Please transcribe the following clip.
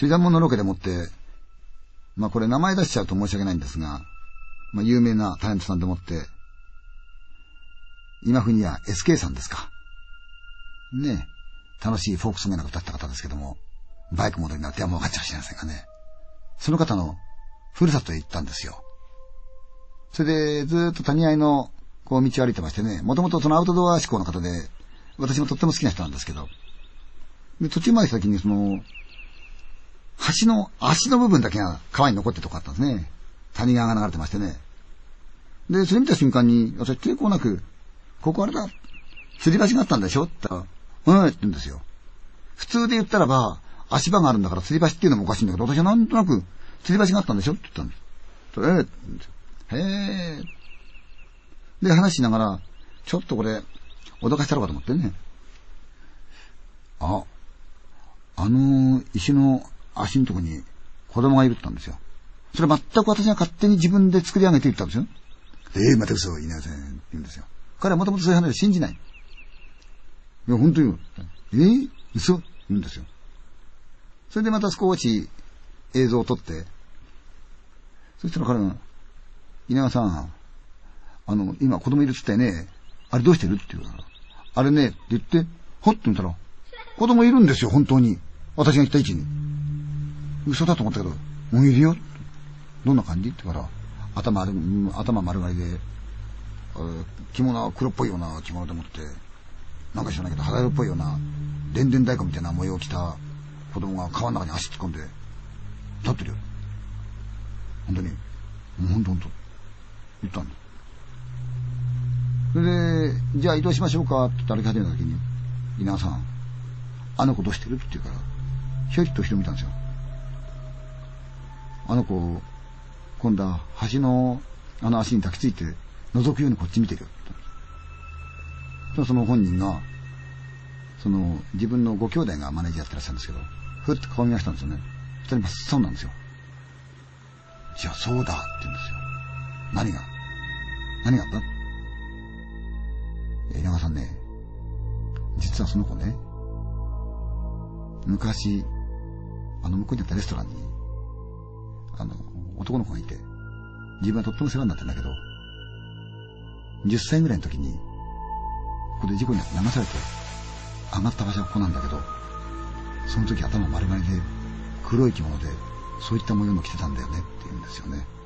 水団門のロケでもって、これ名前出しちゃうと申し訳ないんですが、有名なタレントさんでもって、今風には SK さんですか。ねえ、楽しいフォークソングなんか歌った方ですけども、バイクモデルになってはもう分かっちゃうしれませんかね。その方のふるさとへ行ったんですよ。それでずーっと谷合の道を歩いてましてね、もともとそのアウトドア志向の方で、私もとっても好きな人なんですけど、で途中まで来た時に橋の足の部分だけが川に残ってるとこあったんですね。谷川が流れてましてね。で、それ見た瞬間に、私抵抗なく、ここあれだ、吊り橋があったんでしょって言ったら、って言うんですよ。普通で言ったらば、足場があるんだから吊り橋っていうのもおかしいんだけど、私はなんとなく、吊り橋があったんでしょって言ったんです。って言うんですよ。へー。で、話しながら、ちょっとこれ、脅かしたろうかと思ってね。石の足のとこに子供がいるって言ったんですよ。それ全く私が勝手に自分で作り上げて言ったんですよ。また嘘を言いなさいって言うんですよ。彼はもともとそういう話を信じない。いや、本当に嘘言うんですよ。それでまた少し映像を撮って、そしたら彼が、稲川さん、今子供いるって言ったよね。あれどうしてるって言うから、あれね、って言って、ほっと見たら、子供いるんですよ、本当に。私が言った位置に。嘘だと思ったけど、もういるよ。どんな感じって言うから、頭丸刈りで、着物は黒っぽいような着物でもって、なんか知らないけど肌色っぽいような、でんでん太鼓みたいな模様を着た子供が川の中に足突っ込んで、立ってるよ。本当に。本当言ったんだ。それで、じゃあ移動しましょうかって歩き始めた時に、稲川さん、あの子どうしてるって言うから、ひょいっと人見たんですよ。あの子、今度は橋の足に抱きついて、覗くようにこっち見てるよって。その本人が、自分のご兄弟がマネージャーやってらっしゃるんですけど、ふっと顔見ましたんですよね。そしたら真っ青なんですよ。じゃあそうだって言うんですよ。何があった稲川さんね、実はその子ね、昔、向こうにあったレストランに、男の子がいて、自分はとっても世話になってんだけど、10歳ぐらいの時に、ここで事故になって流されて、上がった場所はここなんだけど、その時頭丸刈りで、黒い着物で、そういった模様の着てたんだよねって言うんですよね。